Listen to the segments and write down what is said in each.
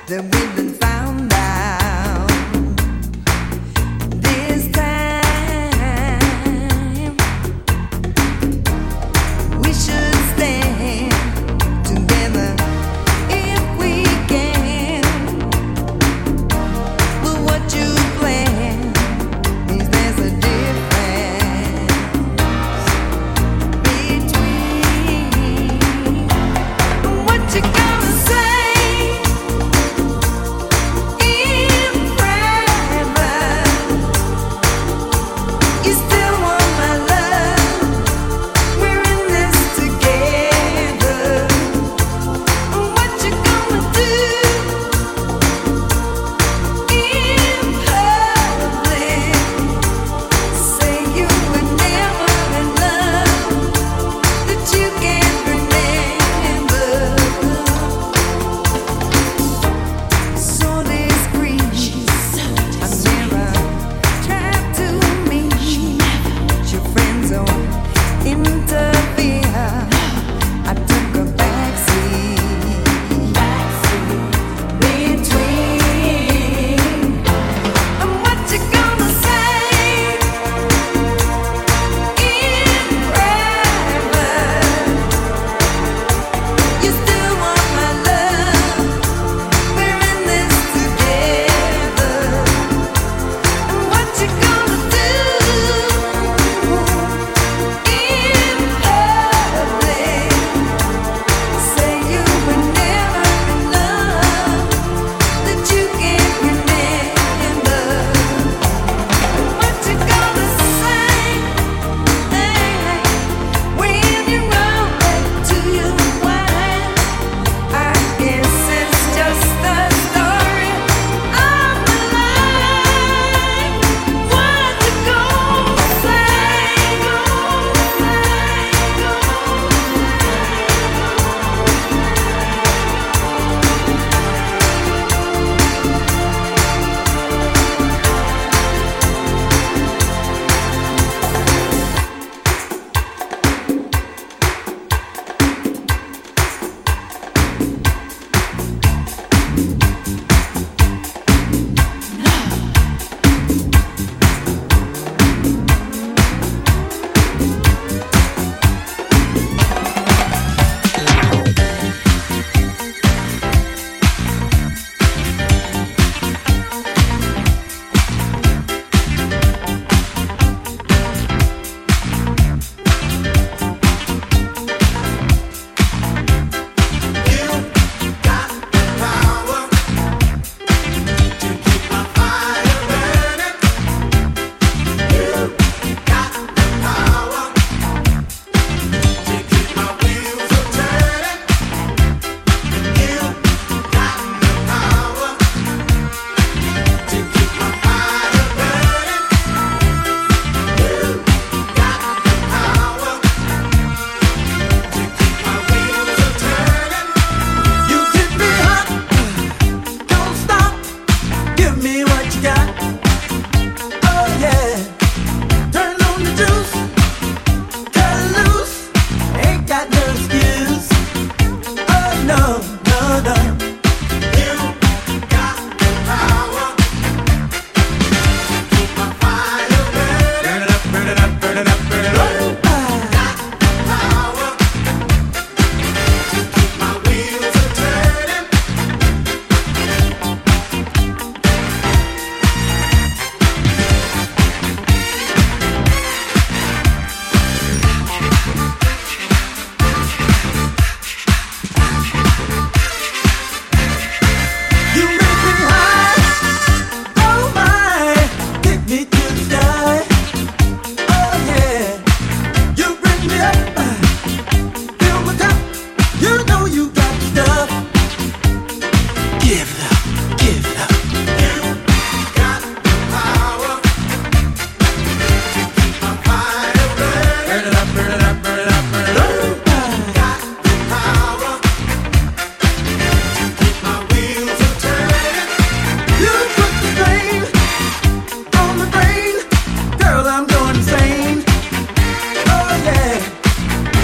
that we've been found out. This time we should stand together if we can. But what you plan means there's a difference between what you gonna say.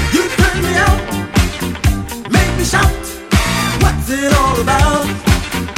it all about?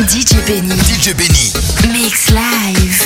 DJ Benny. DJ Benny. Mix live.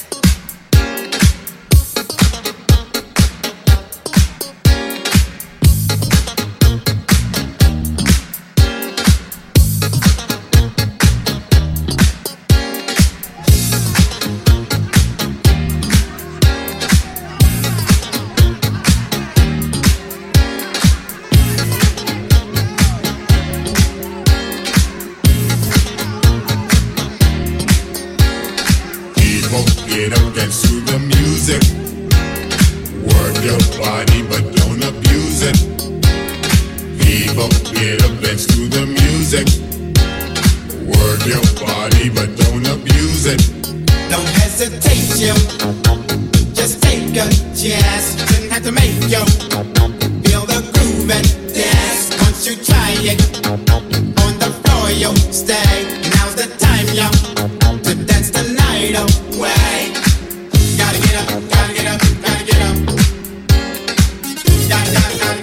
Get up, dance to the music. Work your body, but don't abuse it. People, get up, dance to the music. Work your body, but don't abuse it. Don't hesitate, yo. Just take a chance. Shouldn't have to make yo. Feel the groove and dance. Once you try it, on the floor, yo, stay. Now's the time, yo, to dance the night away. Gotta get up, gotta get up, gotta get up. Gotta get up.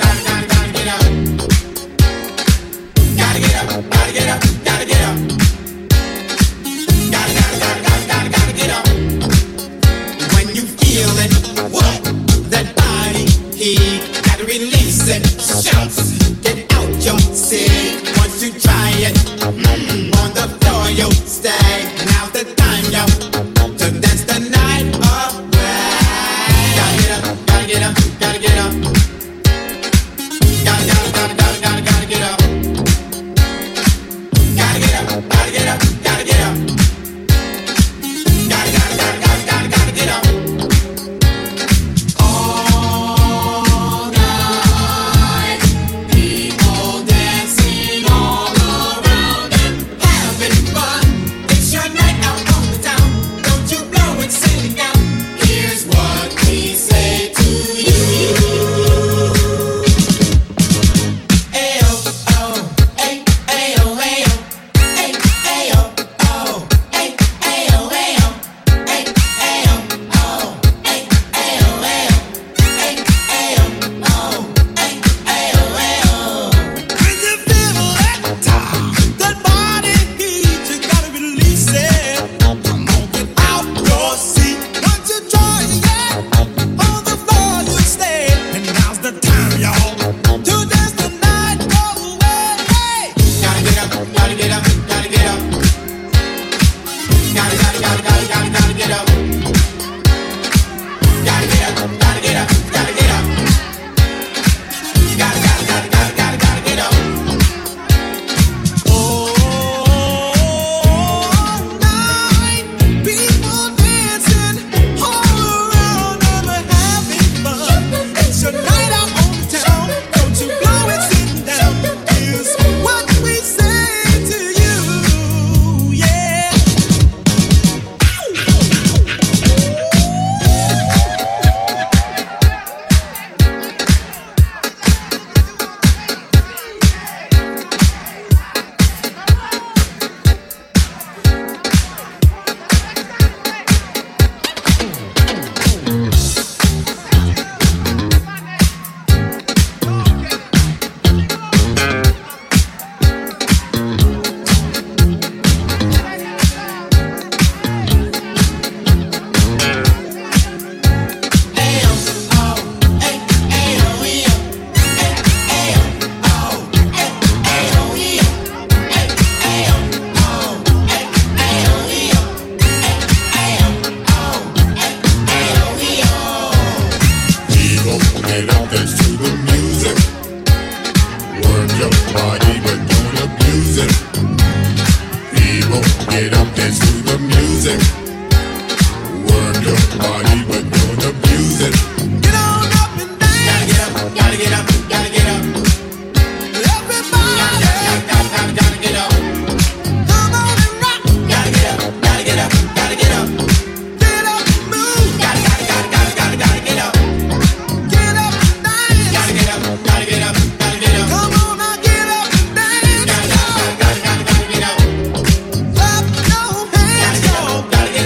Gotta get up, gotta get up, gotta get up. Gotta get up. When you feel it, what? That body heat, gotta release it. Shouts, get out your seat. Once you try it, on the floor you'll stay. Now's the time, yo, to dance the night away. Gotta get up, gotta get up, gotta get up. Gotta get up. Gotta get up, gotta get up, gotta get up. Gotta get up. All night, people dancing all around and having fun. It's your night out on the town. Don't you blow it, sing it out. Here's what we say to you. Ayo, oh, ay, ayo, ayo. Ay, ayo, oh, ay, ayo, ayo. Ay, ayo, oh, ay, ayo, ayo. Ay, ayo, oh, ay, ayo, ayo. When you feel that body heat, you gotta release it. Come on, get out your seat. Once you try it, on the floor you stay. And now's the time, y'all, to dance the night away. Gotta get up, gotta get up, gotta get up. Gotta get up. Gotta get up, gotta get up, gotta get up. Gotta get up. All night, people dancing all around and having fun. It's your night out on the town. Don't you blow it, sitting down. Here's what we say to you, yeah. People, get up, dance to the music. Work your body, but don't abuse it. People, get up, dance to the music. Work your body, but don't abuse it. Get on up and dance. Gotta get up, gotta get up, gotta get up. Everybody, gotta get up. Come on and rock. Gotta get up, gotta get up, gotta get up. Get up and move. Gotta get up. Get up and dance. Gotta get up, gotta get up, gotta get up. Come on now, get up and dance. Gotta get up. Clap your hands, gotta get up.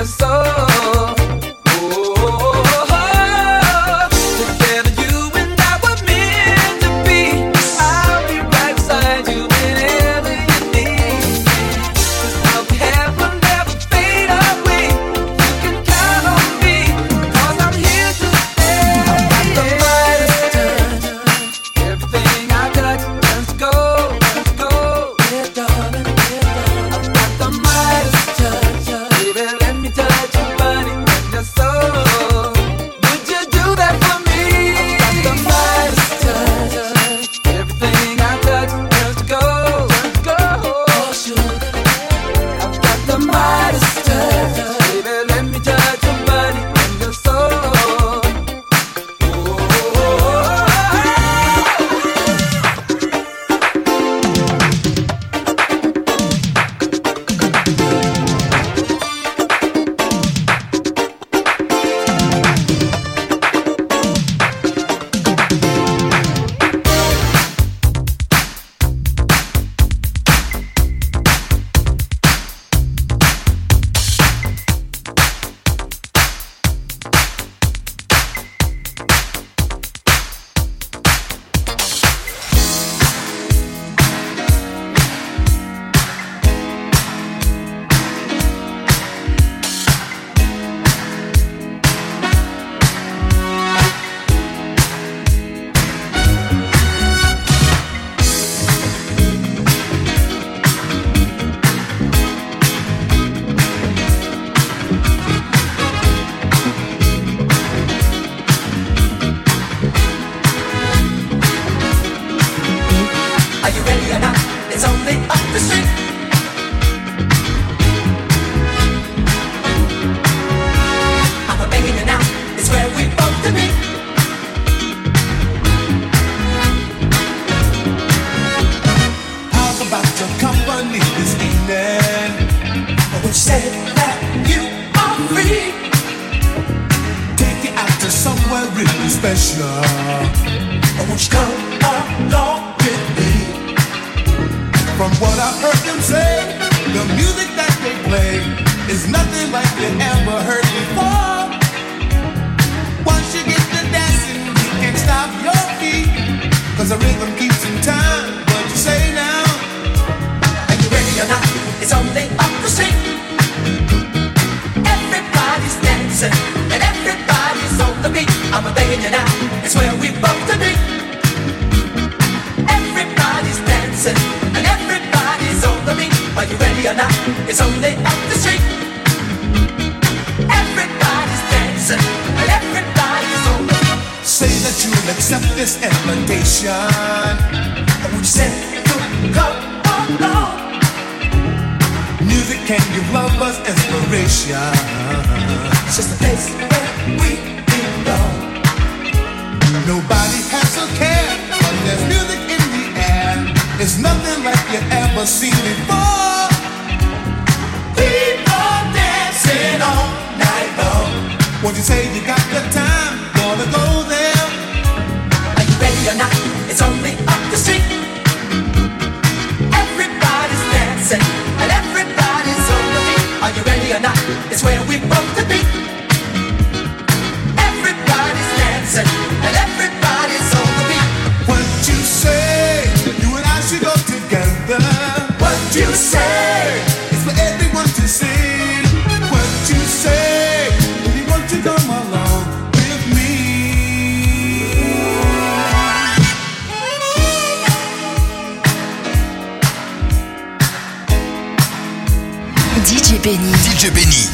DJ Benny.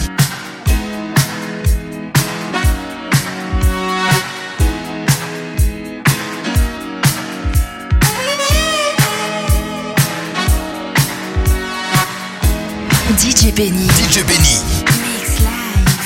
DJ Benny. DJ Benny. Mix Live.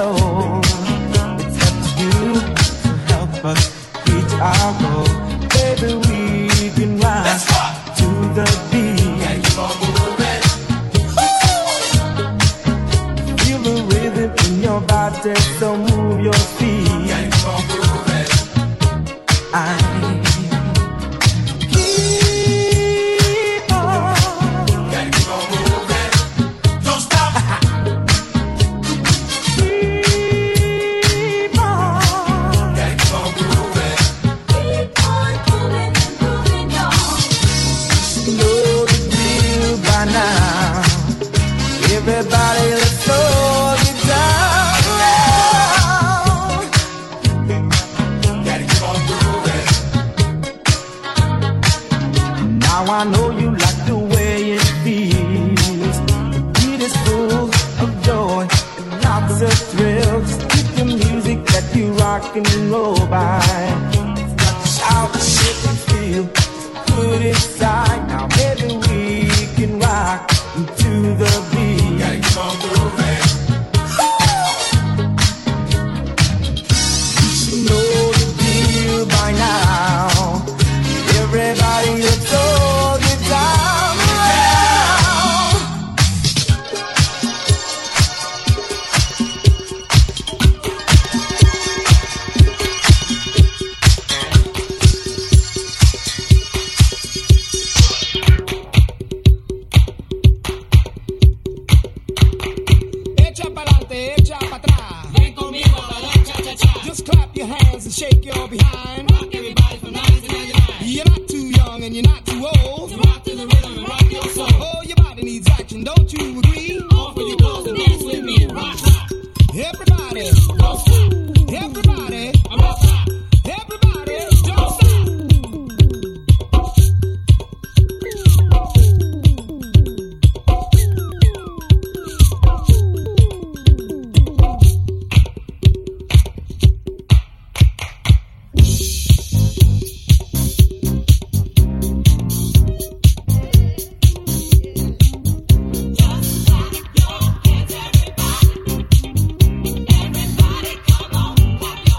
know it's up to you to help us reach our goal. Baby, we can rise to the beat. Gotta keep on moving. Feel the rhythm in your body, so move your feet. Gotta keep on moving. Everybody, let's slow it down. Gotta keep on moving. Now I know you like the way it feels. The beat is full of joy and lots of thrills. Keep the music that you rock and roll by. It's got to shout, shit and feel. Put it aside. Now maybe we can rock to the beat. Gotta keep on moving. You should know the deal by now. Everybody, let's all get down around. Echa pa'lante, echa pa' atrás. Ven conmigo a bailar cha-cha-cha. Just clap your hands and shake your behind. Rock everybody from 90s to 99. You're not too young and you're not too old. So rock to the rhythm and rock your soul. Oh, your body needs action, don't you agree? Off with your clothes and dance with me. Rock, rock. Everybody, Don't stop. everybody, I'm up top. everybody, don't stop. Everybody, come on, clap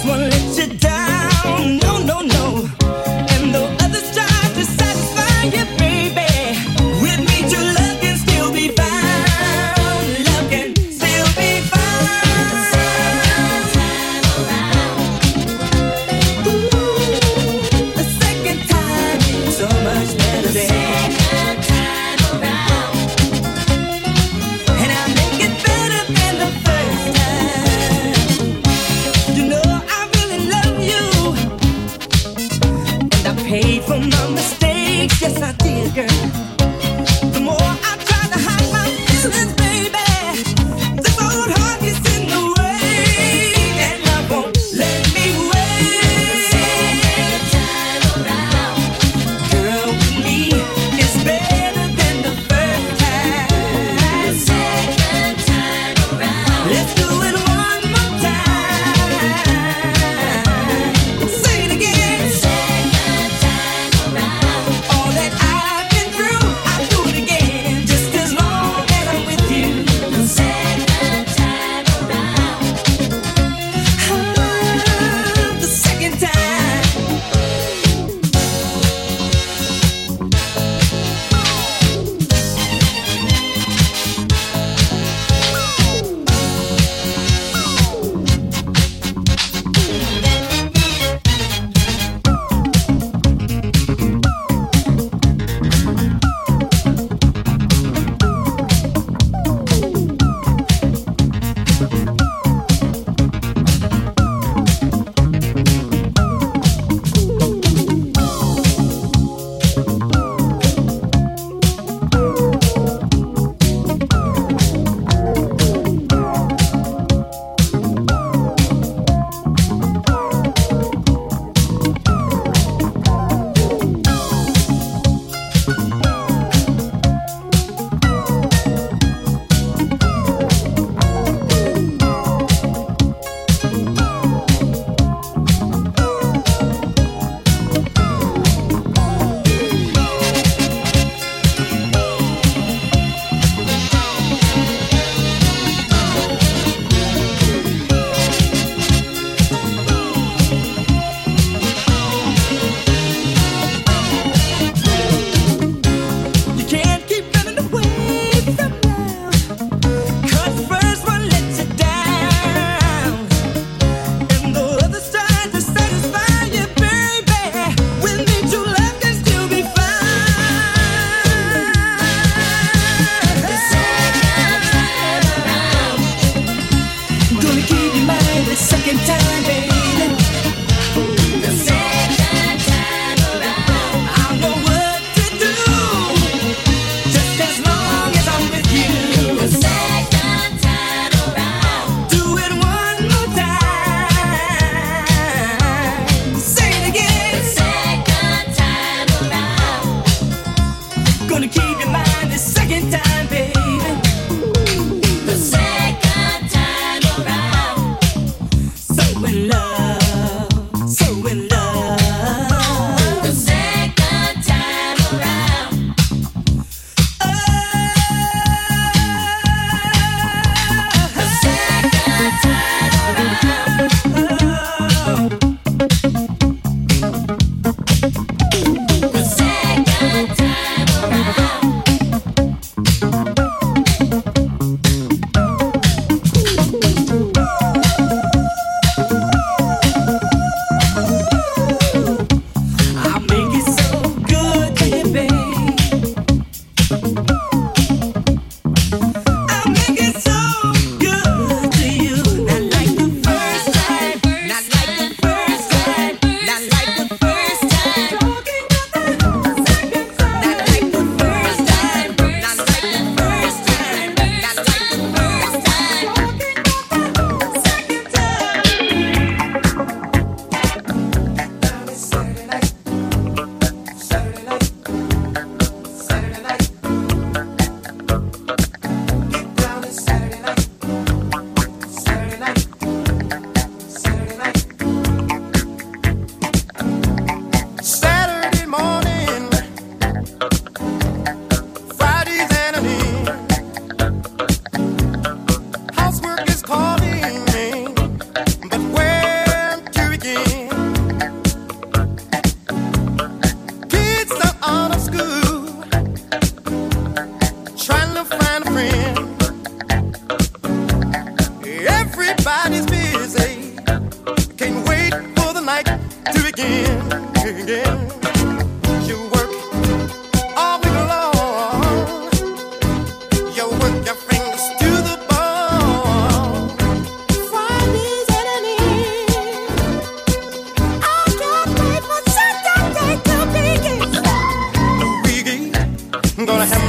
Saturday night.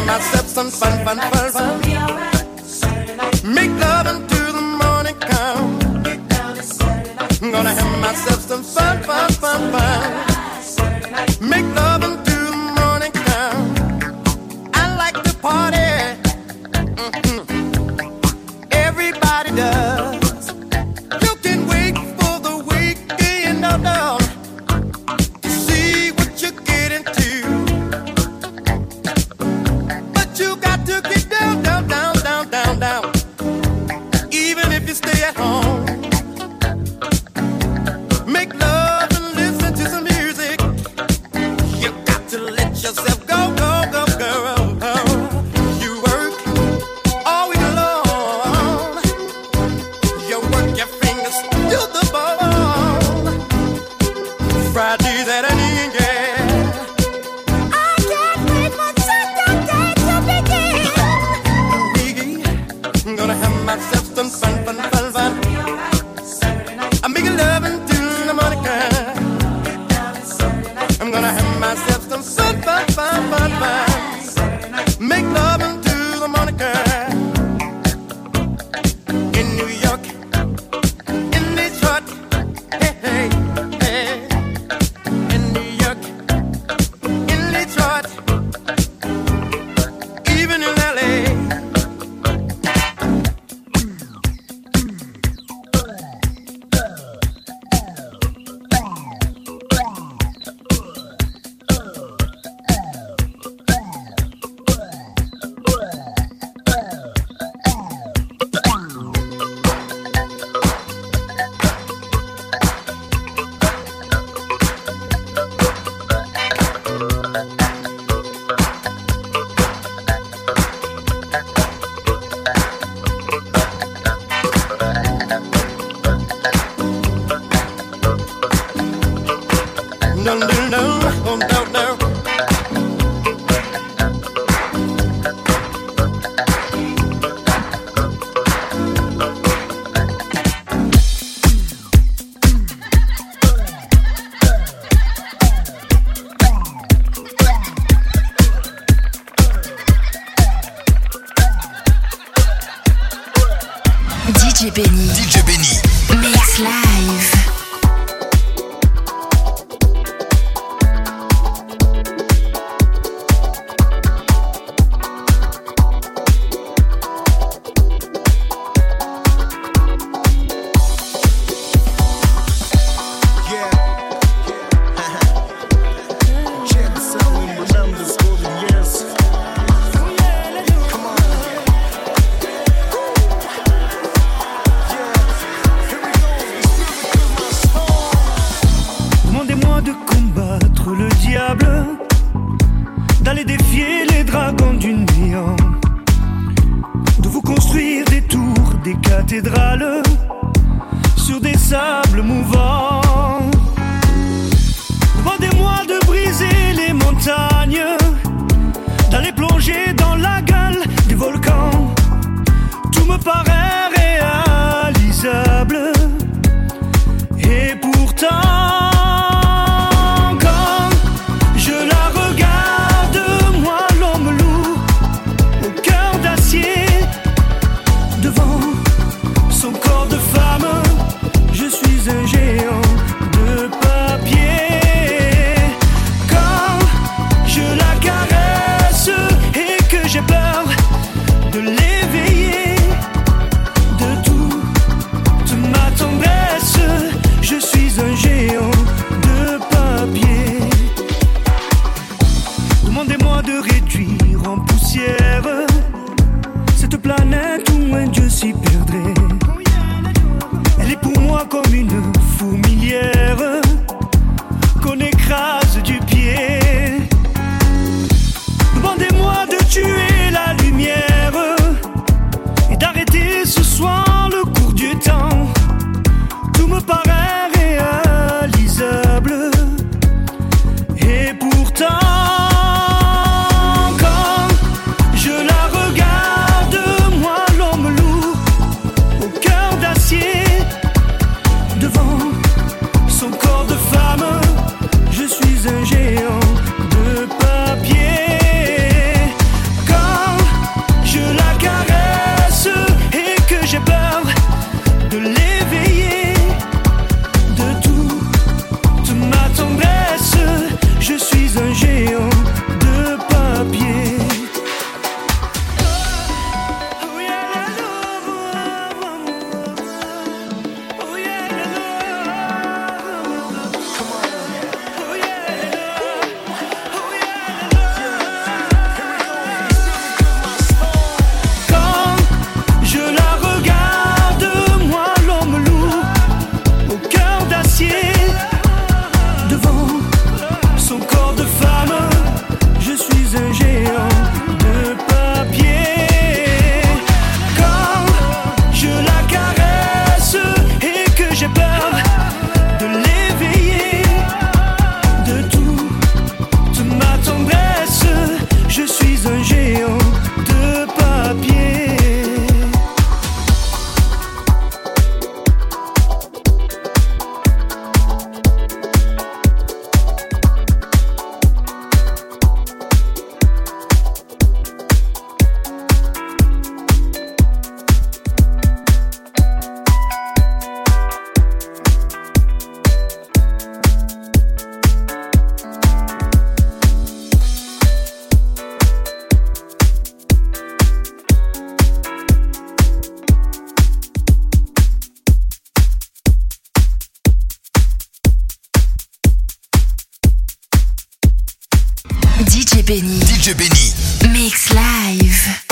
myself some fun. Make love until the morning come. I'm gonna have myself some fun. Make love until the morning come. I like to party. Everybody does. You can wait for the weekend, no, to see what you get into. But you got to get down. Even if you stay at home. Make love and listen to some music. You got to let yourself go, girl. You work all week long. You work your fingers to the bone. Friday, Saturday, yeah. I can't wait for Saturday to begin. I'm gonna have myself some fun. I'm making love until the morning comes. I'm gonna have myself some fun. Make love until the morning comes. In New York, in Detroit, hey. In New York, in Detroit, even in LA. No. DJ Benny. Mix Live. D'aller défier les dragons du néant, de vous construire des tours, des cathédrales sur des sables mouvants. Demandez-moi de briser les montagnes, d'aller plonger dans la gueule du volcan. Tout me paraît réalisable, et pourtant un géant de papier. Quand je la d'acier. Devant son corps de femme, je suis un géant de papier. Quand je la caresse et que j'ai peur de l'éveiller, de toute ma tendresse, je suis un géant de papier. DJ Benny. DJ Benny. Mix Live.